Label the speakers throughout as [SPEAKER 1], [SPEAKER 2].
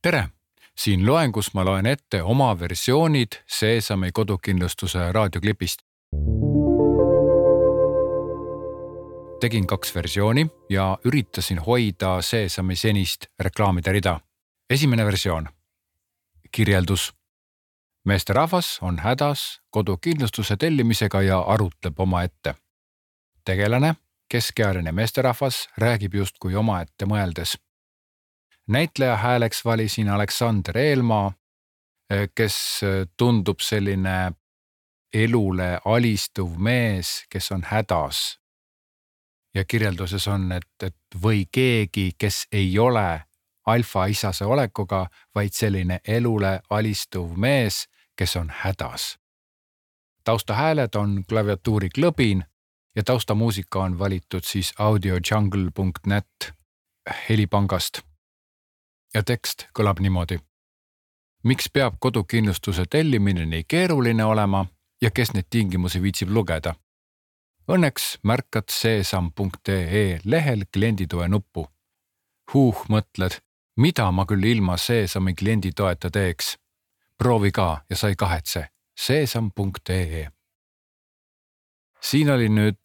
[SPEAKER 1] Tere! Siin loengus ma loen ette oma versioonid Seesami kodukindlustuse raadioklipist. Tegin 2 versiooni ja üritasin hoida Seesami senist reklaamide rida. Esimene versioon. Kirjeldus. Meesterahvas on hädas kodukindlustuse tellimisega ja arutleb omaette. Tegelane, keskealine meesterahvas, räägib justkui omaette mõeldes. Näitleja hääleks valisin Aleksander Eelmaa, kes tundub selline elule alistuv mees, kes on hädas. Ja kirjelduses on, et või keegi, kes ei ole alfa-isase olekuga, vaid selline elule alistuv mees, kes on hädas. Taustahääled on klaviatuuri klõbin ja taustamuusika on valitud siis audiojungle.net helipangast. Ja tekst kõlab niimoodi. Miks peab kodukindlustuse tellimine nii keeruline olema ja kes neid tingimusi viitsib lugeda? Õnneks märkad seesam.ee lehel klienditoe nuppu. Mõtled, mida ma küll ilma Seesami klienditoeta teeks? Proovi ka ja sai kahetse. Seesam.ee. Siin oli nüüd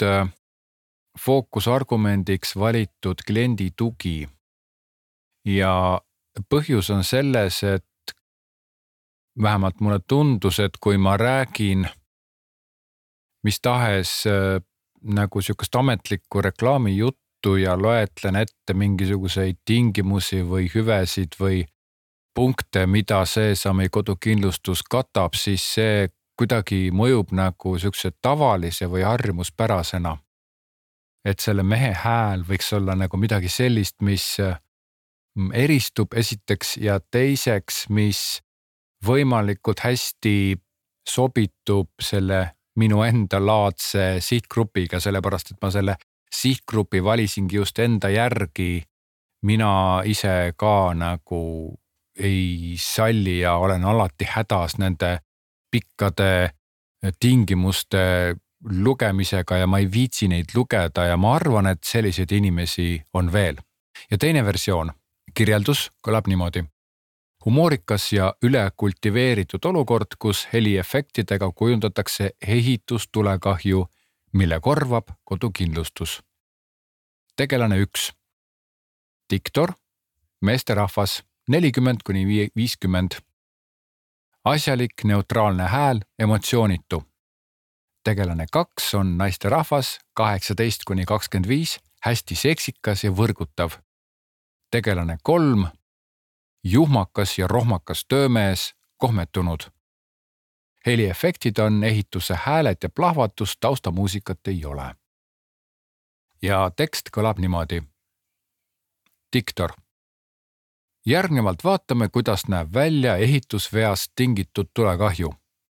[SPEAKER 1] fookusargumendiks valitud kliendi tugi. Ja põhjus on selles, et vähemalt mulle tundus, et kui ma räägin mis tahes nagu sükast ametlikku reklaamijuttu ja loetlen ette mingisuguseid tingimusi või hüvesid või punkte, mida Seesami kodukindlustus katab, siis see kuidagi mõjub nagu sükse tavalise või harjumuspärasena. Et selle mehe hääl võiks olla nagu midagi sellist, mis eristub esiteks ja teiseks, mis võimalikult hästi sobitub selle minu enda laadse sihtgrupiga, sellepärast, et ma selle sihtgrupi valisingi just enda järgi. Mina ise ka nagu ei salli ja olen alati hädas nende pikkade tingimuste lugemisega ja ma ei viitsi neid lugeda ja ma arvan, et selliseid inimesi on veel. Ja teine versioon. Kirjeldus kõlab niimoodi. Humoorikas ja ülekultiveeritud olukord, kus heliefektidega kujundatakse ehitustulekahju, mille korvab kodukindlustus. Tegelane 1. Diktor, meesterahvas 40–50. Asjalik, neutraalne hääl, emotsioonitu. Tegelane 2 on naisterahvas 18–25, hästi seksikas ja võrgutav. Tegelane 3, juhmakas ja rohmakas töömees, kohmetunud. Heliefektid on ehituse hääled ja plahvatus, taustamuusikat ei ole. Ja tekst kõlab niimoodi. Diktor. Järgnevalt vaatame, kuidas näeb välja ehitusveast tingitud tulekahju.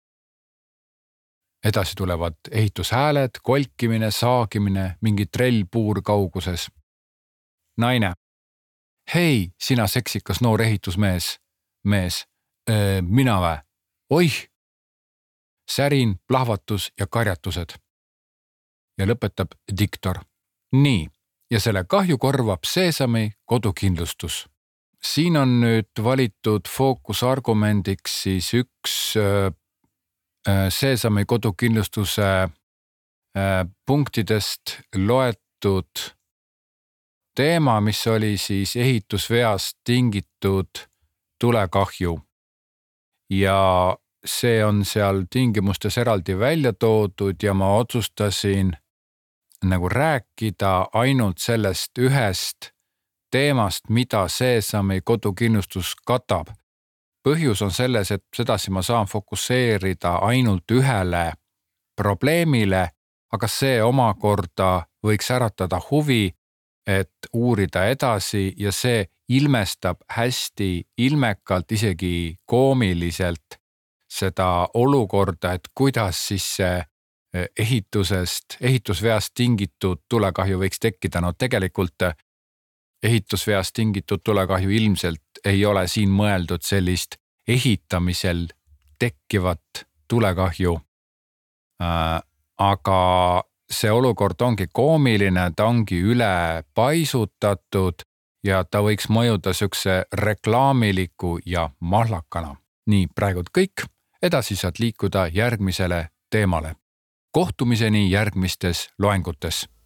[SPEAKER 1] Edasi tulevad ehitushääled, kolkimine, saagimine, mingi trellpuur kauguses. Naine. Hei, sina seksikas noor ehitusmees. Mees. Mina vä? Oih! Särin, plahvatus ja karjatused. Ja lõpetab diktor. Nii, ja selle kahju korvab Seesami kodukindlustus. Siin on nüüd valitud fookusargumendiks siis üks Seesami kodukindlustuse punktidest loetud teema, mis oli siis ehitusveast tingitud tulekahju. Ja see on seal tingimustes eraldi välja toodud ja ma otsustasin nagu rääkida ainult sellest ühest teemast, mida Seesami kodukindlustus katab. Põhjus on selles, et sedasi ma saan fokusseerida ainult ühele probleemile, aga see omakorda võiks äratada huvi, et uurida edasi ja see ilmestab hästi ilmekalt, isegi koomiliselt seda olukorda, et kuidas siis see ehitusveast tingitud tulekahju võiks tekkida. No tegelikult ehitusveast tingitud tulekahju ilmselt ei ole siin mõeldud sellist ehitamisel tekkivat tulekahju. Aga see olukord ongi koomiline, ta ongi üle paisutatud ja ta võiks mõjuda siukse reklaamiliku ja mahlakana. Nii, praegult kõik, edasi saad liikuda järgmisele teemale. Kohtumiseni järgmistes loengutes.